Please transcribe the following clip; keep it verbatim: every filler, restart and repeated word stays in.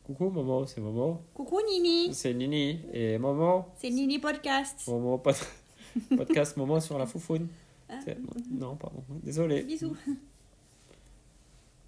Coucou Momo, c'est Momo. Coucou Nini. C'est Nini. Et Momo. C'est Nini Podcast. Momo, pod... podcast Momo sur la foufoune. Ah. Non, pardon. Désolé. Bisous.